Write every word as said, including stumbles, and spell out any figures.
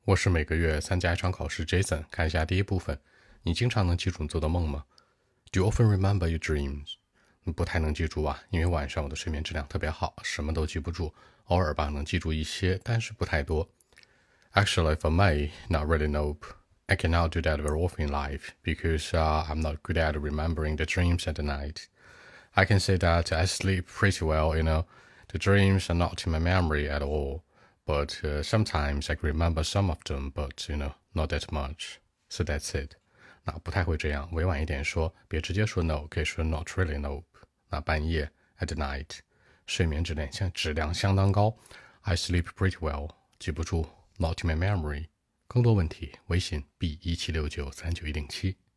我是每个月参加一场考试 Jason， 看一下第一部分。你经常能记住你做的梦吗？ Do you often remember your dreams? 不太能记住啊，因为晚上我的睡眠质量特别好，什么都记不住，偶尔吧能记住一些，但是不太多。Actually, for me, not really nope. I cannot do that very often in life because uh, I'm not good at remembering the dreams at night. I can say that I sleep pretty well, you know. The dreams are not in my memory at all, but uh, sometimes I can remember some of them, but, you know, not that much. So that's it. 那不太会这样，委婉一点说，别直接说 no， 可以说 not really nope。那半夜 at night， 睡眠质量相质量相当高。I sleep pretty well， 记不住 not in my memory。更多问题，微信 b 一七六九三九一零七。